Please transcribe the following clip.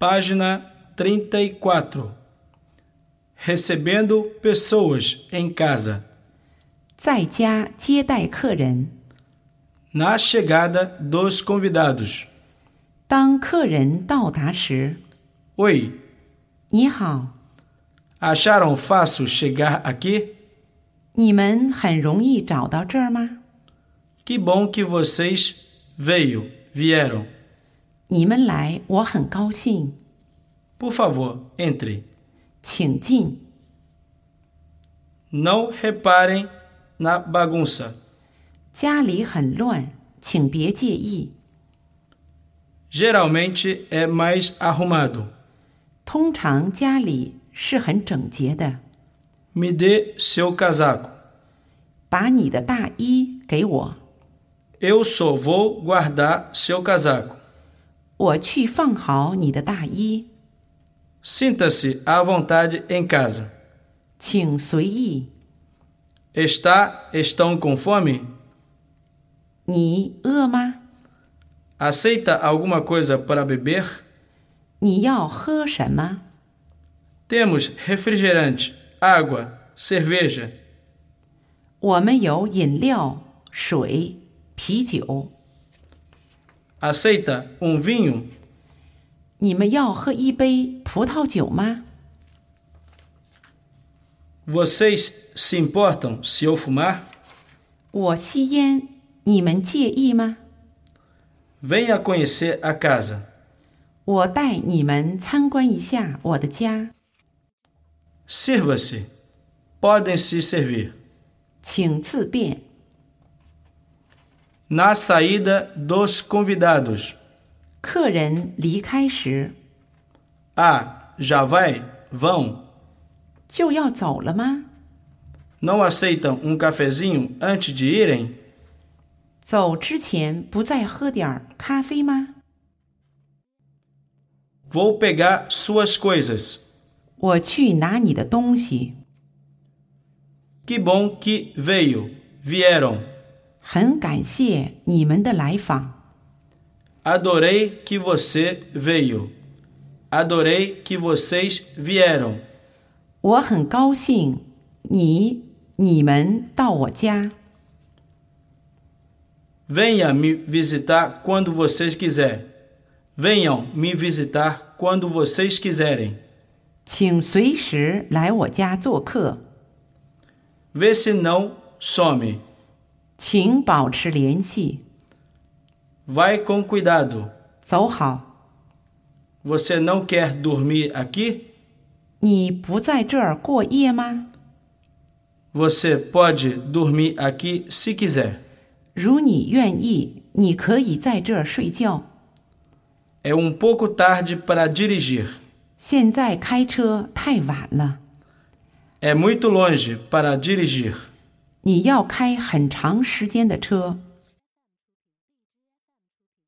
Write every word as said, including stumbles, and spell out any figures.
Página trinta e quatro. Recebendo pessoas em casa. 在家接待客人。 Na chegada dos convidados. 当客人到达时， Oi, 你好， acharam fácil chegar aqui? 你们很容易找到这儿吗？ Que bom que vocês veio, vieram. 你们来，我很高兴， Por favor, entre. 请进。 Não reparem na bagunça. 家里很乱，请别介意。 Geralmente é mais arrumado. 通常家里是很整洁的。 Me dê seu casaco. 把你的大衣给我， Eu só vou guardar seu casaco. 我去放好你的大衣， Sinta-se à vontade em casa. 请随意。 Está, estão com fome? 你饿吗？ Aceita alguma coisa para beber? 你要喝什么？ Temos refrigerante, água, cerveja. 我们有饮料、水、啤酒。 Aceita um vinho? 你们要喝一杯葡萄酒吗？ Vocês se importam se eu fumar? 我吸烟，你们介意吗？ Venha conhecer a casa. 我带你们参观一下我的家， Sirva-se. Podem se servir. 请自便。 Na saída dos convidados. 客人离开时， Ah, já vai? Vão. 就要走了吗？ Não aceitam um cafezinho antes de irem? 走之前不再喝点咖啡吗？ Vou pegar suas coisas. 我去拿你的东西。 Que bom que veio. Vieram. 很感谢你们的来访， Adorei que você veio. Adorei que vocês vieram. 我很高兴你、你们到我家。 Venha me visitar quando vocês quiserem. Venham me visitar quando vocês quiserem. 请随时来我家做客， Vê se não some. 请保持联系。 Vai com cuidado. 走好， Você não quer dormir aqui? 你不在这儿过夜吗？ Você pode dormir aqui se quiser. 如你愿意，你可以在这儿睡觉。 É um pouco tarde para dirigir. 现在开车太晚了， É muito longe para dirigir. 你要开很长时间的车。